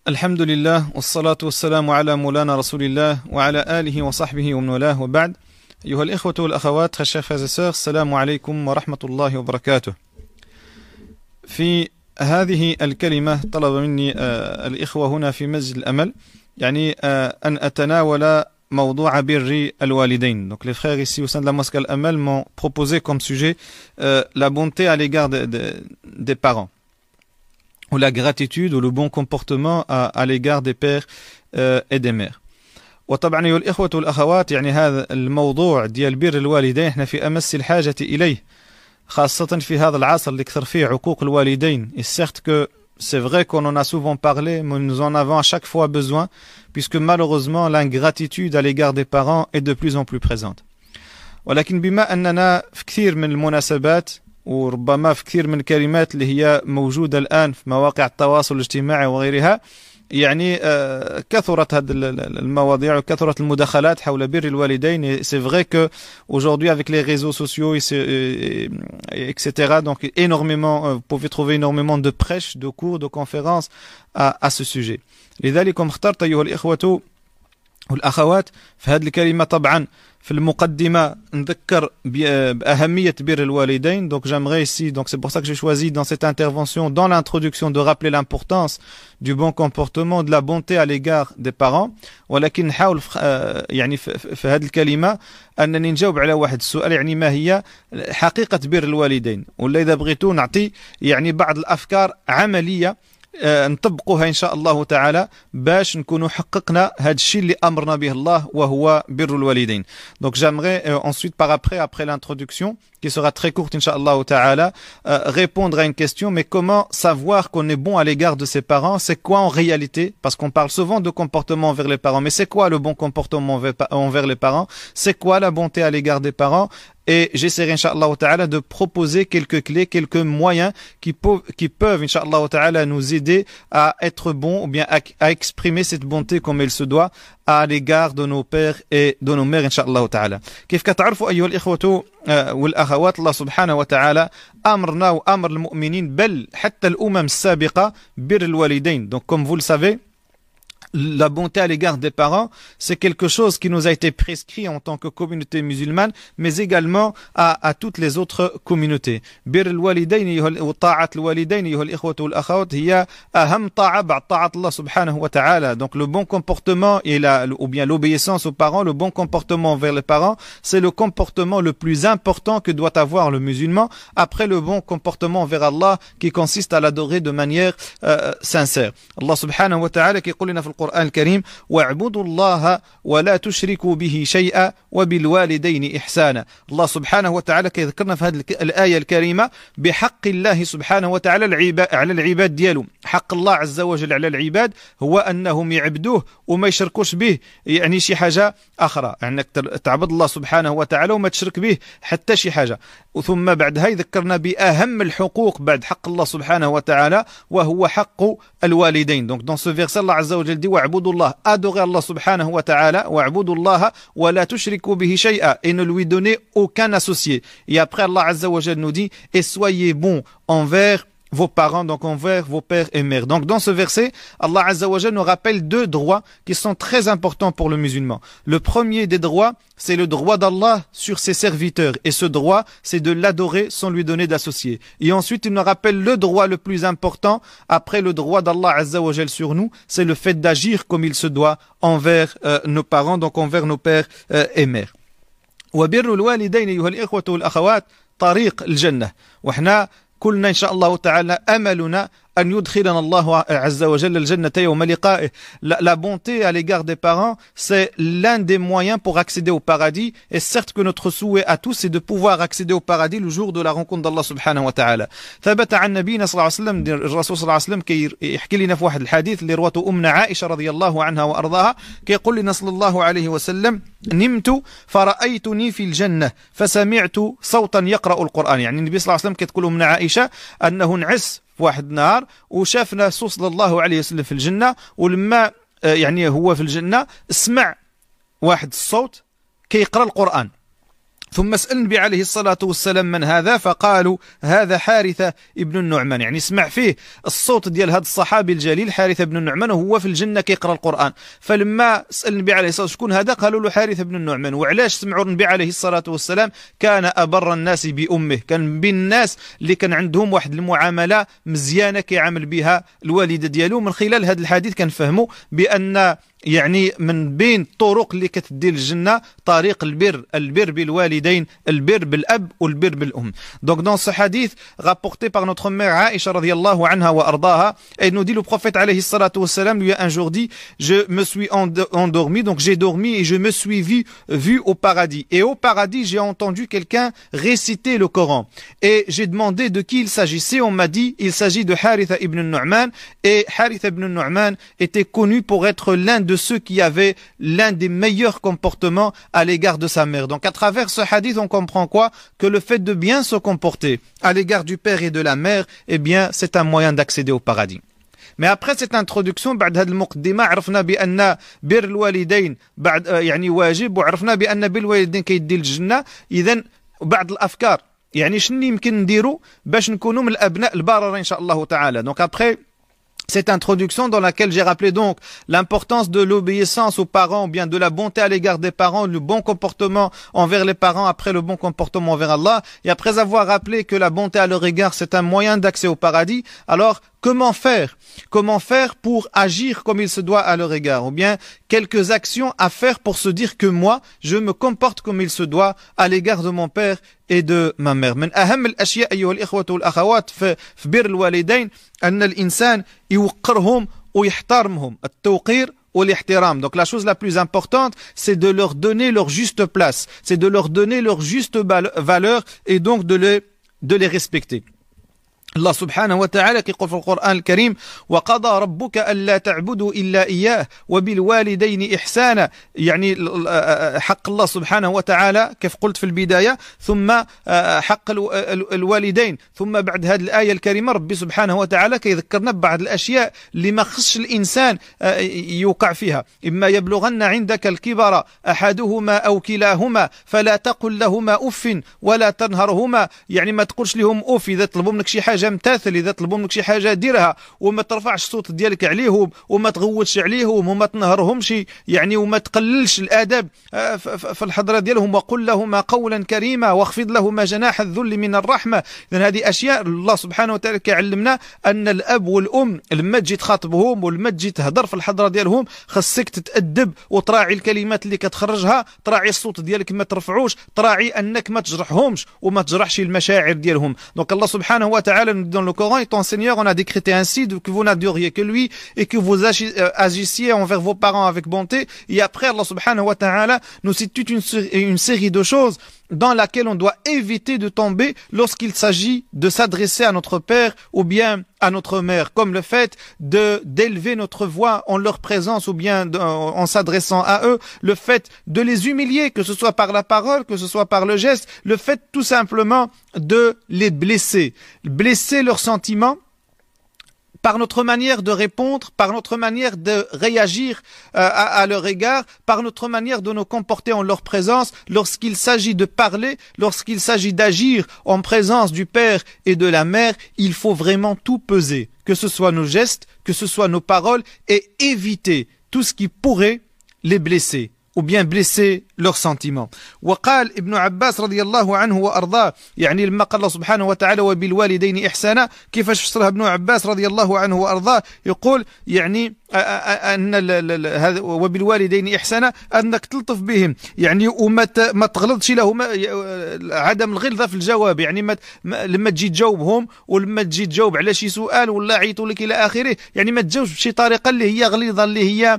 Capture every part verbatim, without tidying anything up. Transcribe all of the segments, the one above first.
الحمد لله والصلاة والسلام على مولانا رسول الله وعلى آله وصحبه ومن والاه وبعد. أيها الإخوة والأخوات, chers frères et sœurs, السلام عليكم ورحمة الله وبركاته. في هذه الكلمة طلب مني الإخوة هنا في مسجد الأمل يعني أن أتناول موضوع بر الوالدين. Donc les frères ici au sein de la mosquée Al-Amal m'ont proposé comme sujet euh, la bonté à l'égard de, de, des parents, ou la gratitude ou le bon comportement à, à l'égard des pères euh, et des mères. وطبعا أيها الإخوة والأخوات, يعني هذا الموضوع ديال بر الوالدين احنا في أمس الحاجة إليه, خاصة في هذا العصر اللي كثر فيه عقوق الوالدين. Et certes que c'est vrai qu'on en a souvent parlé, mais nous en avons à chaque fois besoin, puisque malheureusement l'ingratitude à l'égard des parents est de plus en plus présente. ولكن بما أننا في كثير من المناسبات وربما في كثير من الكلمات اللي هي موجودة الآن في مواقع التواصل الاجتماعي وغيرها, يعني كثرت هذه المواضيع وكثرت المداخلات حول بر الوالدين. C'est vrai que aujourd'hui avec les réseaux sociaux et cetera, donc énormément, vous pouvez trouver énormément de prêches, de cours, de conférences à, à ce sujet. لذلك اخترت أيها الإخوة والأخوات في هذه الكلمة طبعا في المقدمة نذكر بأهمية بر الوالدين. Donc j'aimerais ici, donc c'est pour ça que j'ai choisi dans cette intervention, dans l'introduction, de rappeler l'importance du bon comportement, de la bonté à l'égard des parents. ولكن نحاول يعني في هذه الكلمة أنني نجاوب على واحد السؤال, يعني ما هي حقيقة بر الوالدين, ولا إذا بغيتوا نعطي يعني بعض الأفكار عملية نطبقوها إن شاء الله تعالى باش نكونوا حققنا هذا الشيء اللي أمرنا به الله وهو بر الوالدين. Donc j'aimerais euh, ensuite par après, après l'introduction qui sera très courte Inch'Allah ta'ala, euh, répondre à une question, mais comment savoir qu'on est bon à l'égard de ses parents? C'est quoi en réalité? Parce qu'on parle souvent de comportement envers les parents, mais c'est quoi le bon comportement envers les parents? C'est quoi la bonté à l'égard des parents? Et j'essaierai Inch'Allah ta'ala de proposer quelques clés, quelques moyens qui peuvent, qui peuvent Inch'Allah ta'ala nous aider à être bons ou bien à, à exprimer cette bonté comme elle se doit à l'égard de nos pères et de nos mères Inch'Allah ta'ala. كيف كتعرفوا أيها الإخوة والأخوات, الله سبحانه وتعالى أمرنا وأمر المؤمنين بل حتى الأمم السابقة بر الوالدين. Donc comme vous le savez, la bonté à l'égard des parents, c'est quelque chose qui nous a été prescrit en tant que communauté musulmane, mais également à, à toutes les autres communautés. بر الوالدين وطاعة الوالدين أيها الإخوة والأخوات هي أهم طاعة بعد طاعة الله سبحانه وتعالى. Donc le bon comportement et la, ou bien l'obéissance aux parents, le bon comportement envers les parents, c'est le comportement le plus important que doit avoir le musulman après le bon comportement envers Allah qui consiste à l'adorer de manière euh, sincère. Allah subhanahu wa ta'ala qui يقول لنا في القرآن الكريم واعبدوا الله ولا تشركوا به شيئا وبالوالدين إحسانا. الله سبحانه وتعالى كيذكرنا في هذه الآية الكريمة بحق الله سبحانه وتعالى على العباد ديالو. حق الله عز وجل على العباد هو أنهم يعبدوه وما يشركوش به يعني شي حاجة أخرى, أنك تعبد الله سبحانه وتعالى وما تشرك به حتى شي حاجة. ثم بعدها يذكرنا بأهم الحقوق بعد حق الله سبحانه وتعالى وهو حق الوالدين. Donc dans ce verset Allah عز وجل dit واعبدوا الله, adorez Allah subhanahu wa ta'ala, واعبدوا الله ولا تشركوا به شيئا, et ne lui donnez aucun associé. Et après Allah azza wa jalla nous dit et soyez bons envers vos parents, donc envers vos pères et mères. Donc dans ce verset, Allah Azza wa Jalla nous rappelle deux droits qui sont très importants pour le musulman. Le premier des droits, c'est le droit d'Allah sur ses serviteurs. Et ce droit, c'est de l'adorer sans lui donner d'associé. Et ensuite, il nous rappelle le droit le plus important, après le droit d'Allah Azza wa Jalla sur nous, c'est le fait d'agir comme il se doit envers euh, nos parents, donc envers nos pères euh, et mères. وبر الوالدين أيها الإخوة والأخوات طريق الجنة. وإحنا كلنا إن شاء الله تعالى أملنا أن يدخلنا الله عز وجل الجنة يوم لقائه. La, la bonté à l'égard des parents, c'est l'un des moyens pour accéder au paradis. Et certes que notre souhait à tous, c'est de pouvoir accéder au paradis le jour de la rencontre d'Allah subhanahu wa ta'ala. ثبت عن نبينا صلى الله عليه وسلم, الرسول صلى الله عليه وسلم كي يحكي لنا في واحد الحديث اللي رواته أمنا عائشة رضي الله عنها وأرضاها, كي يقول لنا صلى الله عليه وسلم نمت فرأيتني في الجنة فسمعت صوتا يقرأ القرآن. يعني النبي صلى الله عليه وسلم كي تقول أمنا عائشة أنه نعس في واحد النهار وشافنا الرسول صلى الله عليه وسلم في الجنة, ولما يعني هو في الجنة سمع واحد الصوت كيقرأ القرآن. ثم سأل النبي عليه الصلاة والسلام من هذا، فقالوا هذا حارثة ابن النعمان، يعني سمع فيه الصوت ديال هذا الصحابي الجليل حارثة بن النعمان وهو في الجنة كيقرأ القرآن. فلما سأل النبي عليه الصلاة والسلام شكون هذا، قالوا له حارثة بن النعمان. وعلاش سمعوا النبي عليه الصلاة والسلام؟ كان أبر الناس بأمه، كان من بين الناس اللي كان عندهم واحد المعاملة مزيانة كيعامل بها الوالدة ديالو. من خلال هذا الحديث كنفهموا بأن يعني من بين الطرق اللي كتدي للجنة طريق البر، البر بالوالدين، البر بالأب والبر بالأم. Donc dans ce hadith rapporté par notre mère Aïcha radiyallahu anha wa ardaha, elle nous dit le prophète alayhi salatu wassalam lui a un jour dit je me suis endormi, donc j'ai dormi et je me suis vu, vu au paradis. Et au paradis j'ai entendu quelqu'un réciter le Coran. Et j'ai demandé de qui il s'agissait, on m'a dit il s'agit de Haritha ibn Nu'man. Et Haritha ibn Nu'man était connu pour être l'un de de ceux qui avaient l'un des meilleurs comportements à l'égard de sa mère. Donc à travers ce hadith, on comprend quoi? Que le fait de bien se comporter à l'égard du père et de la mère, eh bien, c'est un moyen d'accéder au paradis. Mais après cette introduction, بعد هذه المقدمة عرفنا بأن بر الوالدين بعد يعني واجب، وعرفنا بأن بر الوالدين كيدي الجنة. إذن بعض الأفكار يعني شنو يمكن نديرو باش نكونوا من الأبناء البررة إن شاء الله تعالى. Donc après cette introduction dans laquelle j'ai rappelé donc l'importance de l'obéissance aux parents, ou bien de la bonté à l'égard des parents, le bon comportement envers les parents après le bon comportement envers Allah, et après avoir rappelé que la bonté à leur égard c'est un moyen d'accès au paradis, alors comment faire? Comment faire pour agir comme il se doit à leur égard? Ou bien quelques actions à faire pour se dire que moi, je me comporte comme il se doit à l'égard de mon père et de ma mère. من أهم الأشياء أيها الإخوة والأخوات في بر الوالدين أن الإنسان يوقرهم ويحترمهم، التوقير والاحترام. Donc la chose la plus importante, c'est de leur donner leur juste place, c'est de leur donner leur juste valeur et donc de les, de les respecter. الله سبحانه وتعالى كيقول في القرآن الكريم وقضى ربك ألا تعبدوا إلا إياه وبالوالدين إحسانا، يعني حق الله سبحانه وتعالى كيف قلت في البداية، ثم حق الوالدين، ثم بعد هذه الآية الكريمة ربي سبحانه وتعالى كيذكرنا ببعض الأشياء اللي ما خصش الإنسان يوقع فيها. إما يبلغن عندك الكبر أحدهما أو كلاهما فلا تقل لهما أف ولا تنهرهما، يعني ما تقولش لهم أف إذا طلبوا منك شي حاجة امتثل، إذا طلبوا منك شي حاجة ديرها، وما ترفعش الصوت ديالك عليهم، وما تغوتش عليهم، وما تنهرهمش، يعني وما تقللش الآداب في الحضرة ديالهم، وقل لهما قولا كريما واخفض لهما جناح الذل من الرحمة. إذن هذه أشياء الله سبحانه وتعالى كيعلمنا أن الأب والأم لما تجي تخاطبهم ولما تجي تهضر في الحضرة ديالهم خاصك تتأدب وتراعي الكلمات اللي كتخرجها، تراعي الصوت ديالك ما ترفعوش، تراعي أنك ما تجرحهمش وما تجرحش المشاعر ديالهم. دونك الله سبحانه وتعالى dans le Coran, et ton Seigneur on a décrété ainsi que vous n'adoriez que lui et que vous agissiez envers vos parents avec bonté. Et après Allah subhanahu wa ta'ala nous cite toute une, une série de choses dans laquelle on doit éviter de tomber lorsqu'il s'agit de s'adresser à notre père ou bien à notre mère, comme le fait de d'élever notre voix en leur présence ou bien de, en s'adressant à eux, le fait de les humilier, que ce soit par la parole, que ce soit par le geste, le fait tout simplement de les blesser, blesser leurs sentiments par notre manière de répondre, par notre manière de réagir euh, à, à leur égard, par notre manière de nous comporter en leur présence, lorsqu'il s'agit de parler, lorsqu'il s'agit d'agir en présence du père et de la mère, il faut vraiment tout peser, que ce soit nos gestes, que ce soit nos paroles, et éviter tout ce qui pourrait les blesser ou bien blesser leurs sentiments. وقال ابن عباس رضي الله عنه وأرضاه، يعني لما قال الله سبحانه وتعالى وبالوالدين إحسانا، كيفاش فسرها ابن عباس رضي الله عنه وأرضاه؟ يقول يعني أن هذا وبالوالدين إحسانا أنك تلطف بهم، يعني وما ما تغلظش لهم، عدم الغلظة في الجواب، يعني ما لما تجي تجاوبهم ولما تجي تجاوب على شي سؤال ولا عيطوا لك إلى آخره، يعني ما تجاوبش بشي طريقة اللي هي غليظة، اللي هي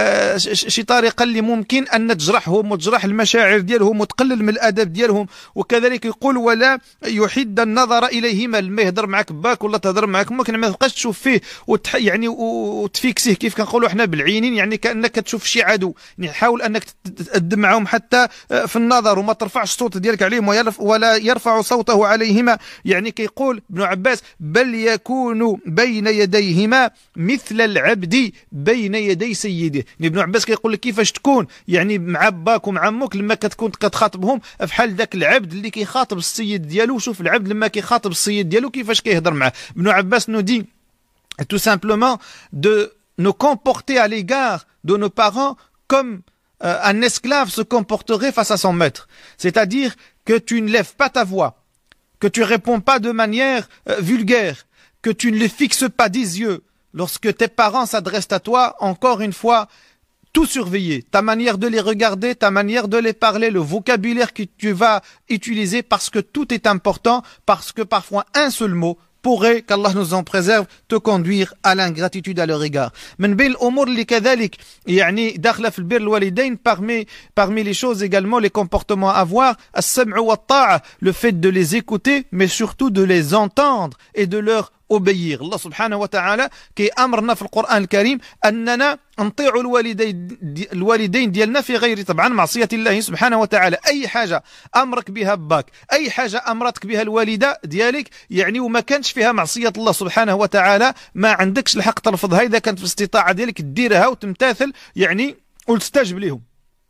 شي طريقة اللي ممكن أن تجرحهم وتجرح المشاعر ديالهم وتقلل من الأدب ديالهم. وكذلك يقول ولا يحد النظر إليهما، لما يهضر معك باك ولا تهضر معك ممكن ما تبقاش تشوف فيه وتح يعني وتفيكسيه كيف كنقولوا احنا بالعينين، يعني كأنك تشوف شي عدو، يعني حاول أنك تتأدب معهم حتى في النظر وما ترفعش الصوت ديالك عليهم ولا يرفع صوته عليهما. يعني كيقول ابن عباس بل يكون بين يديهما مثل العبد بين يدي سيده. ابن عباس كيقول لك كيفاش تكون يعني مع باك ومع عمك لما كتكون كتخاطبهم بحال ذاك العبد اللي كيخاطب السيد ديالو. شوف العبد لما كيخاطب السيد ديالو كيفاش كيهضر معاه. ابن عباس nous dit tout simplement de nous comporter à l'égard de nos parents comme euh, un esclave se comporterait face à son maître. C'est-à-dire que tu ne lèves pas ta voix, que tu réponds pas de manière euh, vulgaire, que tu ne les fixes pas des yeux. Lorsque tes parents s'adressent à toi, encore une fois, tout surveiller, ta manière de les regarder, ta manière de les parler, le vocabulaire que tu vas utiliser, parce que tout est important, parce que parfois un seul mot pourrait, qu'Allah nous en préserve, te conduire à l'ingratitude à leur égard. من بين الأمور اللي كذلك يعني داخلة في البر الوالدين, parmi parmi les choses également, les comportements à avoir, السمع والطاعة, le fait de les écouter, mais surtout de les entendre et de leur obéir. Allah subhanahu wa ta'ala qui أمرنا في القرآن الكريم أننا نطيع الوالدين الوالدين ديالنا في غير طبعا معصية الله سبحانه وتعالى. أي حاجة أمرك بها باك, أي حاجة أمرتك بها الوالدة ديالك يعني وما كانش فيها معصية الله سبحانه وتعالى, ما عندكش الحق ترفضها إذا كانت في الاستطاعة ديالك ديرها وتمتثل يعني وتستجب لهم.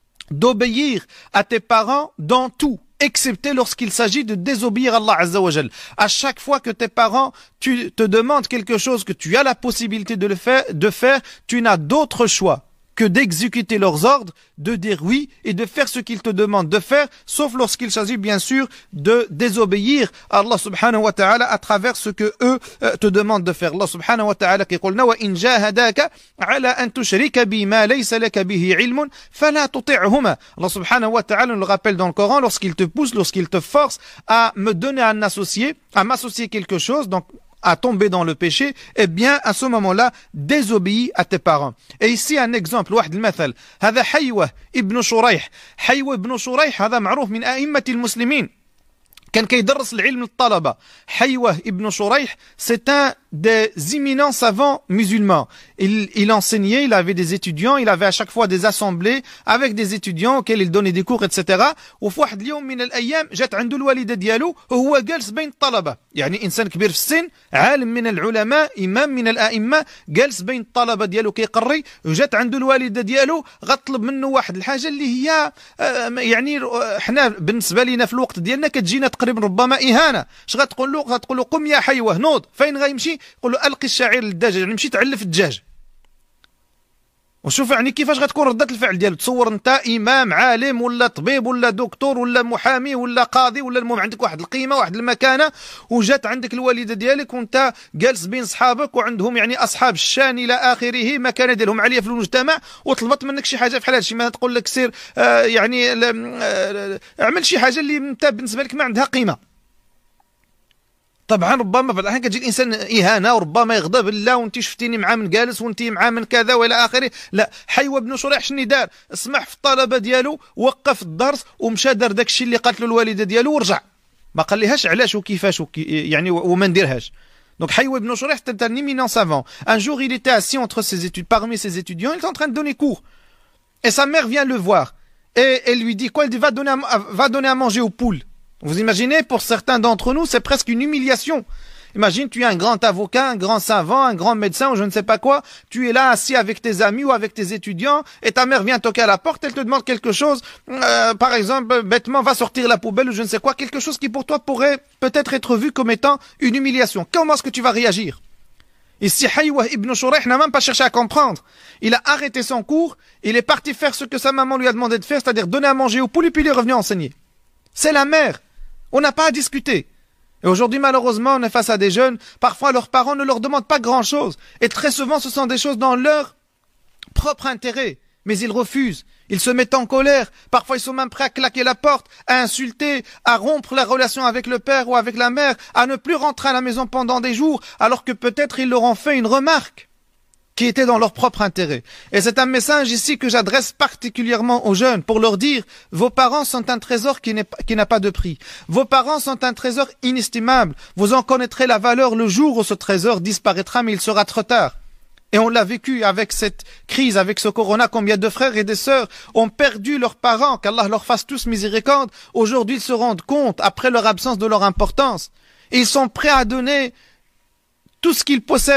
D'obéir à tes parents dans tout, excepté lorsqu'il s'agit de désobéir à Allah Azza wa Jal. À chaque fois que tes parents tu te demandent quelque chose que tu as la possibilité de le faire, de faire, tu n'as d'autre choix que d'exécuter leurs ordres, de dire oui et de faire ce qu'ils te demandent de faire, sauf lorsqu'il s'agit bien sûr de désobéir à Allah subhanahu wa ta'ala à travers ce que eux euh, te demandent de faire. Allah subhanahu wa ta'ala qui قلنا وإن جاهداك على أن تشرك بي ما ليس لك به علم فلا تطعهما. Allah subhanahu wa ta'ala nous le rappelle dans le Coran, lorsqu'il te pousse, lorsqu'il te force à me donner un associé, à m'associer quelque chose, donc à tomber dans le péché, eh bien à ce moment-là désobéis à tes parents. Et ici un exemple, واحد المثل, هذا حيوة ابن شريح. حيوة ابن شريح هذا معروف من أئمة المسلمين, كان كيدرس العلم للطلبة. حيوة ابن شريح, c'est un des éminents savants musulmans. Il, il enseignait, il avait des étudiants, il avait à chaque fois des assemblées avec des étudiants auxquels il donnait des cours, et cetera. وفي واحد اليوم من الأيام جات عنده الوالدة ديالو وهو جالس بين الطلبة, يعني إنسان كبير في السن, عالم من العلماء, إمام من الأئمة, جالس بين الطلبة ديالو كيقري, وجات عنده الوالدة ديالو غطلب منه واحد الحاجة اللي هي يعني احنا بالنسبة لنا في الوقت ديالنا كتجينا تقريبا ربما إهانة. اش غتقول له؟ غتقول له قم يا حيوة نوض. فين غيمشي؟ يقول له ألقي الشعير للدجاج, يعني مشي تعلف الدجاج. وشوف يعني كيفاش غتكون ردة الفعل ديالو. تصور انت امام عالم ولا طبيب ولا دكتور ولا محامي ولا قاضي ولا المهم عندك واحد القيمه واحد المكانه, وجات عندك الوالده ديالك وانت جالس بين صحابك وعندهم يعني اصحاب الشان الى اخره, مكانه ديالهم عاليه في المجتمع, وطلبت منك شي حاجه بحال هادشي. ما تقول لك سير آه يعني آه اعمل شي حاجه اللي انت بالنسبه لك ما عندها قيمه. طبعا ربما في الاحيان كتجي الانسان اهانه وربما يغضب, لا وانت شفتيني مع من جالس وانت مع من كذا والى اخره. لا, حيوة بن شريح شني دار؟ اسمح في الطلبه ديالو, وقف الدرس ومشى دار داك الشيء اللي قالت له الوالده ديالو ورجع, ما قال ليهاش علاش وكيفاش وكي يعني وما نديرهاش. Donc حيوة بن شريح c'était un éminent savant. Un jour il était assis entre ses études, parmi ses étudiants, il était en train de donner cours et sa mère vient le voir et elle lui dit quoi? Elle dit va donner à, va donner à manger aux poules. Vous imaginez, pour certains d'entre nous, c'est presque une humiliation. Imagine, tu es un grand avocat, un grand savant, un grand médecin ou je ne sais pas quoi. Tu es là assis avec tes amis ou avec tes étudiants et ta mère vient toquer à la porte, elle te demande quelque chose. Euh, par exemple, bêtement, va sortir la poubelle ou je ne sais quoi. Quelque chose qui pour toi pourrait peut-être être vu comme étant une humiliation. Comment est-ce que tu vas réagir? Ici, Haywa ibn Shurayh n'a même pas cherché à comprendre. Il a arrêté son cours, il est parti faire ce que sa maman lui a demandé de faire, c'est-à-dire donner à manger aux poules et puis il est revenu enseigner. C'est la mère. On n'a pas à discuter. Et aujourd'hui, malheureusement, on est face à des jeunes, parfois leurs parents ne leur demandent pas grand-chose. Et très souvent, ce sont des choses dans leur propre intérêt. Mais ils refusent. Ils se mettent en colère. Parfois, ils sont même prêts à claquer la porte, à insulter, à rompre la relation avec le père ou avec la mère, à ne plus rentrer à la maison pendant des jours, alors que peut-être ils leur ont fait une remarque qui était dans leur propre intérêt. Et c'est un message ici que j'adresse particulièrement aux jeunes pour leur dire, vos parents sont un trésor qui n'est, qui n'a pas de prix. Vos parents sont un trésor inestimable. Vous en connaîtrez la valeur le jour où ce trésor disparaîtra, mais il sera trop tard. Et on l'a vécu avec cette crise, avec ce corona, combien de frères et de sœurs ont perdu leurs parents, qu'Allah leur fasse tous miséricorde. Aujourd'hui, ils se rendent compte, après leur absence, de leur importance. Et ils sont prêts à donner tout ce qu'ils possèdent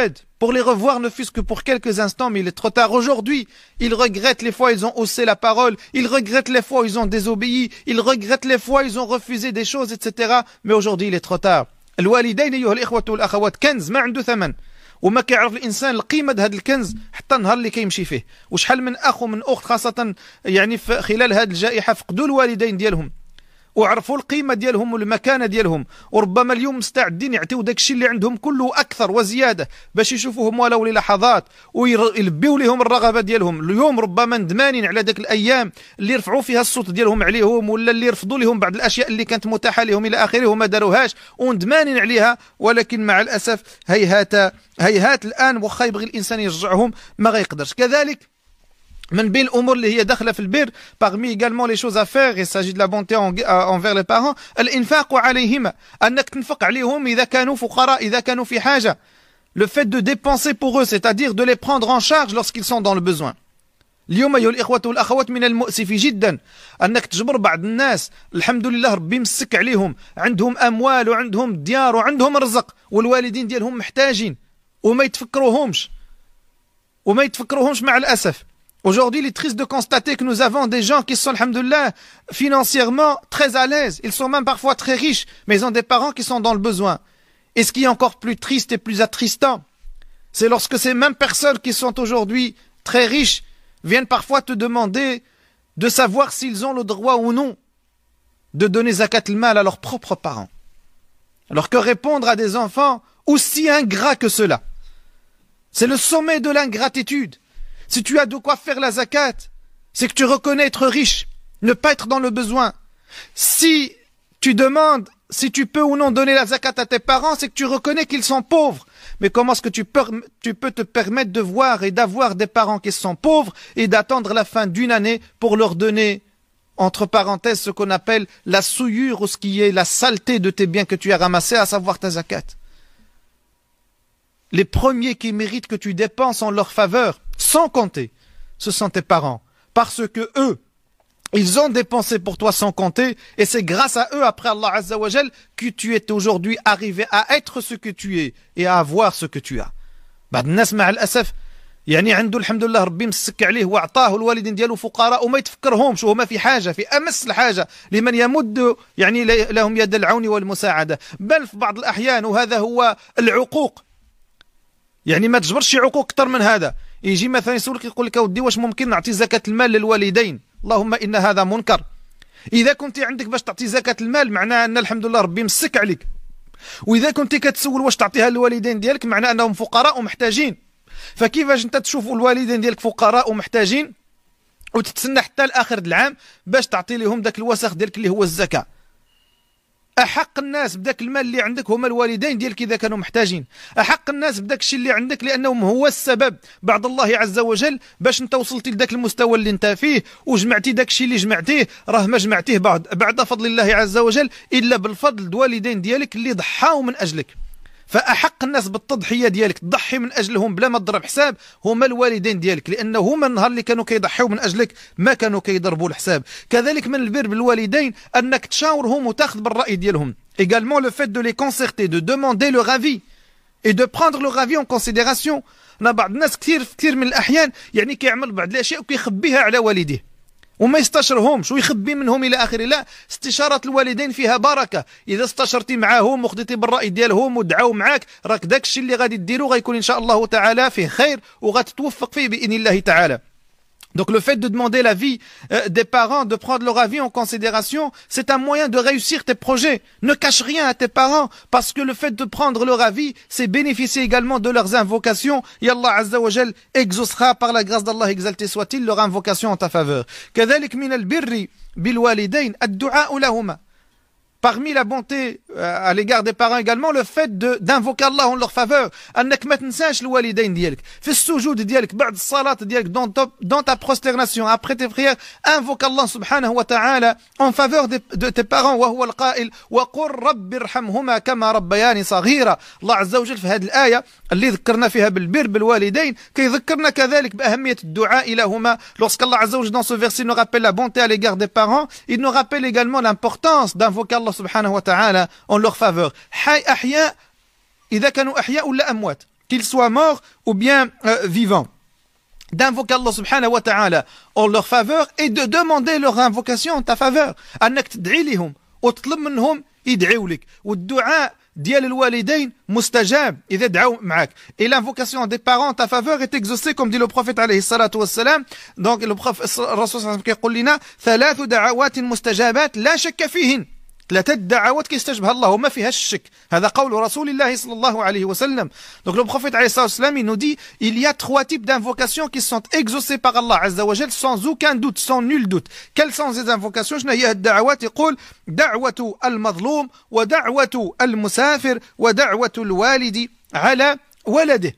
pour les revoir ne fût-ce que pour quelques instants, mais il est trop tard. Aujourd'hui, ils regrettent les fois où ils ont haussé la parole, ils regrettent les fois où ils ont désobéi, ils regrettent les fois où ils ont refusé des choses, et cetera. Mais aujourd'hui, il est trop tard. الوالدين أيها الإخوة والأخوات كنز ما عنده ثمن وما كيعرف الإنسان القيمة هذا الكنز حتى النهار اللي كيمشي فيه. وشحال من أخ ومن أخت خاصة يعني في خلال هذه الجائحة فقدوا الوالدين ديالهم وعرفوا القيمة ديالهم والمكانة ديالهم، وربما اليوم مستعدين يعطيو داك الشيء اللي عندهم كله أكثر وزيادة باش يشوفوهم ولو للحظات ويلبيو لهم الرغبة ديالهم. اليوم ربما ندمانين على داك الأيام اللي رفعوا فيها الصوت ديالهم عليهم ولا اللي رفضوا لهم بعض الأشياء اللي كانت متاحة لهم إلى آخره وما داروهاش وندمانين عليها، ولكن مع الأسف هيهات هيهات الآن واخا يبغي الإنسان يرجعهم ما غيقدرش. كذلك من بين الأمور اللي هي داخلة في البر parmi également les choses à faire, il s'agit de la bonté envers les parents، الإنفاق عليهما، أنك تنفق عليهم إذا كانوا فقراء إذا كانوا في حاجة. Le fait de dépenser pour eux, c'est-à-dire de les prendre en charge lorsqu'ils sont dans le besoin. اليوم أيها الإخوة والأخوات من المؤسف جدا أنك تجبر بعض الناس الحمد لله ربي مسك عليهم عندهم أموال وعندهم ديار وعندهم رزق والوالدين ديالهم محتاجين وما يتفكروهمش وما يتفكروهمش مع الأسف. Aujourd'hui, il est triste de constater que nous avons des gens qui sont, alhamdoulilah, financièrement très à l'aise. Ils sont même parfois très riches, mais ils ont des parents qui sont dans le besoin. Et ce qui est encore plus triste et plus attristant, c'est lorsque ces mêmes personnes qui sont aujourd'hui très riches viennent parfois te demander de savoir s'ils ont le droit ou non de donner zakat al-mal à leurs propres parents. Alors que répondre à des enfants aussi ingrats que cela, c'est le sommet de l'ingratitude. Si tu as de quoi faire la zakat, c'est que tu reconnais être riche, ne pas être dans le besoin. Si tu demandes si tu peux ou non donner la zakat à tes parents, c'est que tu reconnais qu'ils sont pauvres. Mais comment est-ce que tu peux, tu peux te permettre de voir et d'avoir des parents qui sont pauvres et d'attendre la fin d'une année pour leur donner, entre parenthèses, ce qu'on appelle la souillure ou ce qui est la saleté de tes biens que tu as ramassés, à savoir ta zakat. Les premiers qui méritent que tu dépenses en leur faveur, sans compter, ce sont tes parents. Parce que eux, ils ont dépensé pour toi sans compter, et c'est grâce à eux, après Allah Azza wa Jal, que tu es aujourd'hui arrivé à être ce que tu es, et à avoir ce que tu as. بعض الناس مع الأسف يعني عنده الحمد لله ربي مسك عليه وأعطاه الوالدين ديالو فقراء وما يتفكرهمش وهما في حاجة في أمس الحاجة لمن يمد يعني لهم يد العون والمساعدة، بل في بعض الأحيان وهذا هو العقوق. يعني ما تجبرش شي عقوق أكثر من هذا. يجي مثلا يسولك يقول لك اودي واش ممكن نعطي زكاة المال للوالدين؟ اللهم إن هذا منكر. إذا كنت عندك باش تعطي زكاة المال معناه أن الحمد لله ربي مسك عليك، وإذا كنت كتسول واش تعطيها للوالدين ديالك معناه أنهم فقراء ومحتاجين. فكيفاش أنت تشوف الوالدين ديالك فقراء ومحتاجين وتتسنى حتى لآخر العام باش تعطي لهم داك الوسخ ديالك اللي هو الزكاة؟ أحق الناس بداك المال اللي عندك هما الوالدين ديالك إذا كانوا محتاجين، أحق الناس بداك الشيء اللي عندك لأنهم هو السبب بعد الله عز وجل باش انت وصلتي لذاك المستوى اللي انت فيه وجمعتي داك الشيء اللي جمعتيه. راه ما جمعتيه بعد بعد فضل الله عز وجل إلا بالفضل الوالدين ديالك اللي ضحاو من أجلك. فأحق الناس بالتضحية ديالك تضحي من أجلهم بلا ما تضرب حساب هما الوالدين ديالك، لأنه هما النهار اللي كانوا كيضحيوا من أجلك ما كانوا كيضربوا الحساب. كذلك من البر بالوالدين أنك تشاورهم وتاخذ بالرأي ديالهم. Également le fait de les concerter, de demander leur avis et de prendre leur avis en considération. أنا بعض الناس كثير كثير من الأحيان يعني كيعمل بعض الأشياء وكيخبيها على والديه وما يستشرهمش ويخبي منهم إلى آخره. لا، استشارة الوالدين فيها بركة. إذا استشرتي معاهم وخديتي بالرأي ديالهم ودعاو معاك راك داك الشيء اللي غادي ديرو غيكون إن شاء الله تعالى فيه خير وغتتوفق فيه بإذن الله تعالى. Donc le fait de demander l'avis euh, des parents, de prendre leur avis en considération, c'est un moyen de réussir tes projets. Ne cache rien à tes parents, parce que le fait de prendre leur avis, c'est bénéficier également de leurs invocations. Et Allah Azza wa Jal exaucera par la grâce d'Allah, exalté soit-il, leur invocation en ta faveur. كذلك من البر بالوالدين الدعاء لهما. Parmi la bonté euh, à l'égard des parents également, le fait de d'invoquer Allah en leur faveur. أنك ما تنساش الوالدين ديالك في السجود ديالك بعد الصلاة ديالك dans ta, dans ta prosternation après tes prières, invoque Allah subhanahu wa ta'ala en faveur de, de tes parents. وهو القائل وقل رب ارحمهما كما ربياني صغيرا. الله عز وجل في هذه الآية اللي ذكرنا فيها بالبر بالوالدين كيذكرنا كذلك بأهمية الدعاء لهما. Lorsque Allah Azza wa Jal dans ce verset nous rappelle la bonté à l'égard des parents, il nous rappelle également l'importance d'invoquer Allah subhanahu wa ta'ala en leur faveur. حي أحياء إذا كانوا أحياء ولا أموات. qu'ils soient morts ou bien euh, vivants. D'invoquer Allah subhanahu wa ta'ala en leur faveur et de demander leur invocation en ta faveur. أنك تدعي لهم وتطلب منهم يدعوا لك. والدعاء ديال الوالدين مستجاب إذا دعوا معك. Et l'invocation des parents en ta faveur est exaucée comme dit le prophète عليه الصلاة والسلام. Donc le prophète الرسول صلى الله عليه وسلم يقول لنا ثلاث دعوات مستجابات لا شك فيهن. ثلاثة دعوات كيستجبها الله وما فيهاش الشك. هذا قول رسول الله صلى الله عليه وسلم. Donc le prophète عليه الصلاة والسلام il nous dit il y a trois types d'invocations qui sont exaucées par Allah عز وجل sans aucun doute, sans nul doute. Quelles sont ces invocations؟ شنو هي الدعوات؟ يقول دعوة المظلوم ودعوة المسافر ودعوة الوالد على ولده.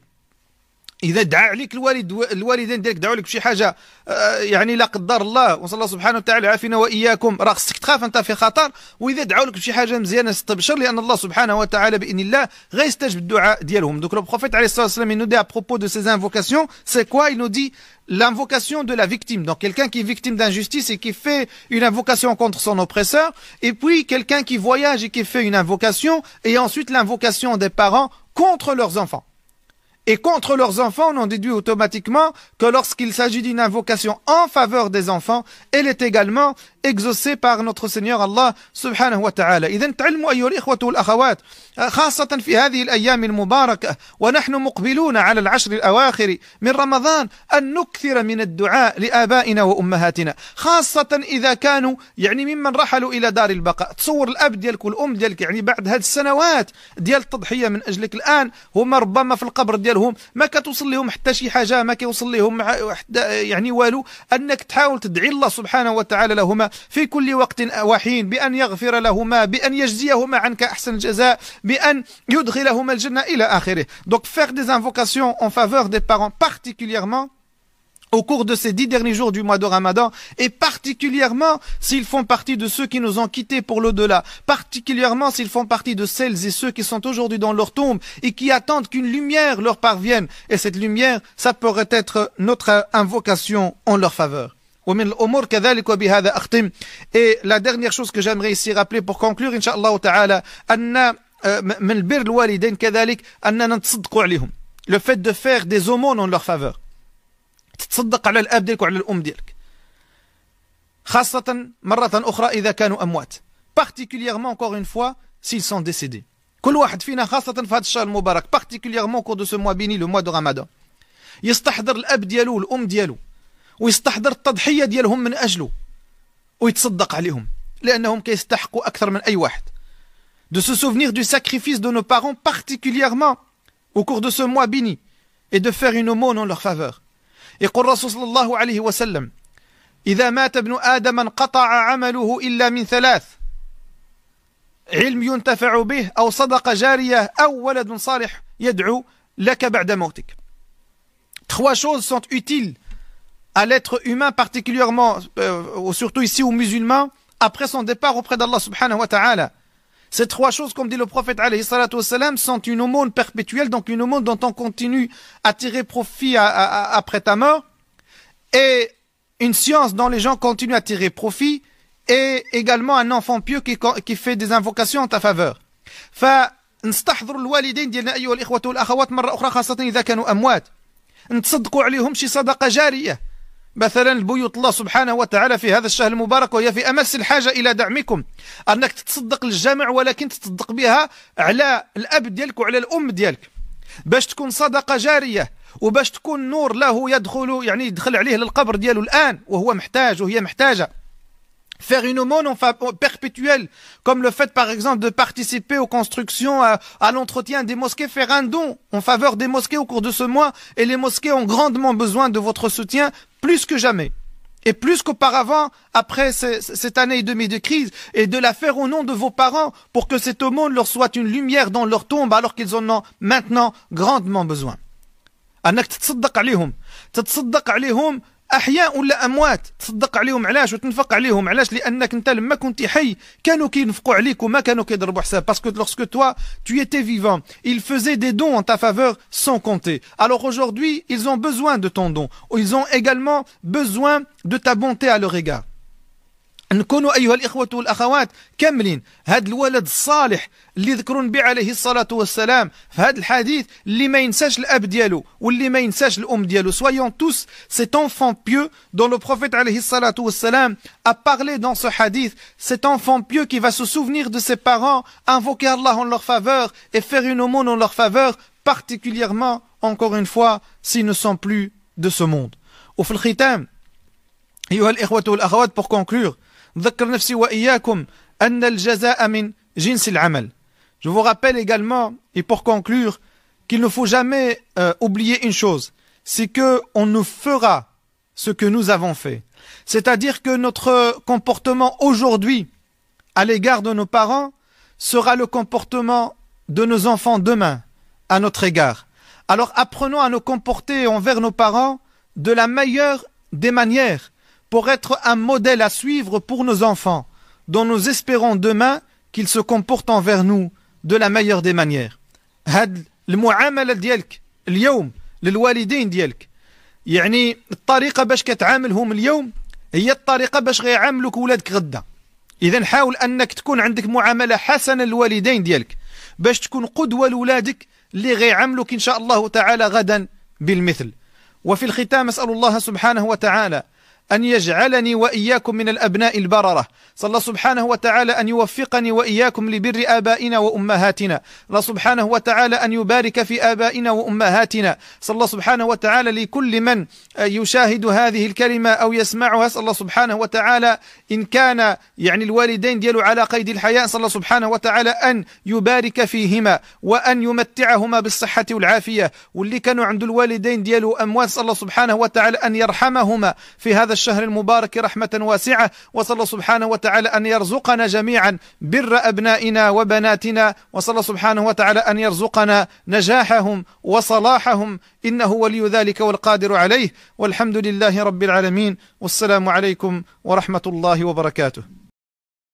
إذا دعا عليك الوالد الوالدين ديالك دعوا لك بشي حاجة يعني لا قدر الله وصلى الله سبحانه وتعالى عافينا وإياكم راه خصك تخاف أنت في خطر. وإذا دعوا لك بشي حاجة مزيانة استبشر لأن الله سبحانه وتعالى بإذن الله غيستجب الدعاء ديالهم. Donc le prophète عليه الصلاة والسلام il nous dit à propos de ces invocations c'est quoi? Il nous dit l'invocation de la victime. Donc quelqu'un qui est victime d'injustice et qui fait une invocation contre son oppresseur, et puis quelqu'un qui voyage et qui fait une invocation, et ensuite l'invocation des parents contre leurs enfants. Et contre leurs enfants, on en déduit automatiquement que lorsqu'il s'agit d'une invocation en faveur des enfants, elle est également exaucée par notre Seigneur Allah subhanahu wa ta'ala. إذن تعلموا أيها الإخوة والأخوات خاصة في هذه الأيام المباركة ونحن مقبلون على العشر الأواخر من رمضان أن نكثر من الدعاء لآبائنا وأمهاتنا خاصة إذا كانوا يعني ممن رحلوا إلى دار البقاء. تصور الأب ديالك والأم ديالك يعني بعد هذه السنوات ديال التضحية من أجلك الآن هما ربما في القبر ديالهم ما كتوصل لهم حتى شي حاجة ما كيوصل لهم يعني والو. أنك تحاول تدعي الله سبحانه وتعالى لهما في كل وقت وحين بأن يغفر لهما بأن يجزيهما عنك أحسن الجزاء بأن يدخلهما الجنة إلى آخره. Donc faire des invocations en faveur des parents particulièrement au cours de ces dix derniers jours du mois de Ramadan, et particulièrement s'ils font partie de ceux qui nous ont quittés pour l'au-delà, particulièrement s'ils font partie de celles et ceux qui sont aujourd'hui dans leur tombe et qui attendent qu'une lumière leur parvienne. Et cette lumière, ça pourrait être notre invocation en leur faveur. Et la dernière chose que j'aimerais ici rappeler pour conclure, Inch'Allah ta'ala, le fait de faire des aumônes en leur faveur. تتصدق على الأب ديالك وعلى الأم ديالك خاصة مرة أخرى إذا كانوا أموات particulièrement encore une fois s'ils sont décédés. كل واحد فينا خاصة في هذا الشهر المبارك particulièrement au cours de ce mois béni le mois de Ramadan يستحضر الأب ديالو والأم ديالو ويستحضر التضحية ديالهم من أجله ويتصدق عليهم لأنهم كيستحقوا أكثر من أي واحد. De se souvenir du sacrifice de nos parents particulièrement au cours de ce mois béni et de faire une aumône en leur faveur. يقول الرسول صلى الله عليه وسلم إذا مات ابن آدم انقطع عمله إلا من ثلاث علم ينتفع به أو صدقة جارية أو ولد صالح يدعو لك بعد موتك. Trois choses sont utiles à l'être humain particulièrement, euh, surtout ici aux musulmans, après son départ auprès d'Allah subhanahu wa ta'ala. Ces trois choses, comme dit le prophète alayhi salatu wassalam, sont une aumône perpétuelle, donc une aumône dont on continue à tirer profit à, à, à, après ta mort, et une science dont les gens continuent à tirer profit, et également un enfant pieux qui, qui fait des invocations en ta faveur. فنستحضر الوالدين ديالنا أيها الإخوة والأخوات مرة أخرى خاصة إذا كانوا أموات نتصدقوا عليهم شي صدقة جارية مثلا البيوت الله سبحانه وتعالى في هذا الشهر المبارك وهي في أمس الحاجة إلى دعمكم أنك تتصدق للجامع ولكن تتصدق بها على الأب ديالك وعلى الأم ديالك باش تكون صدقة جارية وباش تكون نور له يدخل يعني يدخل عليه للقبر ديالو الآن وهو محتاج وهي محتاجة. Faire une aumône perpétuelle, comme le fait par exemple de participer aux constructions, à, à l'entretien des mosquées, faire un don en faveur des mosquées au cours de ce mois, et les mosquées ont grandement besoin de votre soutien, plus que jamais, et plus qu'auparavant, après ces, cette année et demie de crise, et de la faire au nom de vos parents, pour que cette aumône leur soit une lumière dans leur tombe, alors qu'ils en ont maintenant grandement besoin. أنك تتصدق عليهم تتصدق عليهم أحياء ولا أموات تصدق عليهم علاش وتنفق عليهم علاش لأنك أنت لما كنت حي كانوا كينفقوا عليك وما كانوا كيضربوا حساب parce que lorsque toi tu étais vivant ils faisaient des dons en ta faveur sans compter. Alors aujourd'hui ils ont besoin de ton don, ils ont également besoin de ta bonté à leur égard. نكونوا أيها الإخوة والأخوات كاملين هذا الولد الصالح اللي ذكروا النبي عليه الصلاة والسلام في هذا الحديث اللي ما ينساش الأب ديالو واللي ما ينساش الأم ديالو. Soyons tous cet enfant pieux dont le prophète عليه الصلاة والسلام a parlé dans ce hadith, cet enfant pieux qui va se souvenir de ses parents, invoquer Allah en leur faveur et faire une aumône en leur faveur, particulièrement, encore une fois, s'ils ne sont plus de ce monde. وفي الختام أيها الإخوة والأخوات, pour conclure, ذكر نفسي وإياكم أن الجزاء من جنس العمل. Je vous rappelle également, et pour conclure, qu'il ne faut jamais euh, oublier une chose, c'est que on nous fera ce que nous avons fait. C'est-à-dire que notre comportement aujourd'hui à l'égard de nos parents sera le comportement de nos enfants demain à notre égard. Alors apprenons à nous comporter envers nos parents de la meilleure des manières pour être un modèle à suivre pour nos enfants, dont nous espérons demain qu'ils se comportent envers nous de la meilleure des manières. هاد المعاملة ديالك اليوم للوالدين ديالك يعني الطريقة باش كتعاملهم اليوم هي الطريقة باش غيعاملوك ولادك غدا. إذا حاول أنك تكون عندك معاملة حسنة للوالدين ديالك باش تكون قدوة لولادك اللي غيعاملوك إن شاء الله تعالى غدا بالمثل. وفي الختام أسأل الله سبحانه وتعالى أن يجعلني وإياكم من الأبناء البررة. صلى الله سبحانه وتعالى أن يوفقني وإياكم لبر آبائنا وأمهاتنا. الله سبحانه وتعالى أن يبارك في آبائنا وأمهاتنا. صلى الله سبحانه وتعالى لكل من يشاهد هذه الكلمة أو يسمعها, صلى الله سبحانه وتعالى إن كان يعني الوالدين ديالو على قيد الحياة, صلى الله سبحانه وتعالى أن يبارك فيهما وأن يمتعهما بالصحة والعافية. واللي كانوا عند الوالدين ديالو أموات, صلى الله سبحانه وتعالى أن يرحمهما في هذا الشهر المبارك رحمة واسعة. وصلى الله سبحانه وتعالى أن يرزقنا جميعا بر أبنائنا وبناتنا. وصلى الله سبحانه وتعالى أن يرزقنا نجاحهم وصلاحهم, إنه ولي ذلك والقادر عليه. والحمد لله رب العالمين, والسلام عليكم ورحمة الله وبركاته.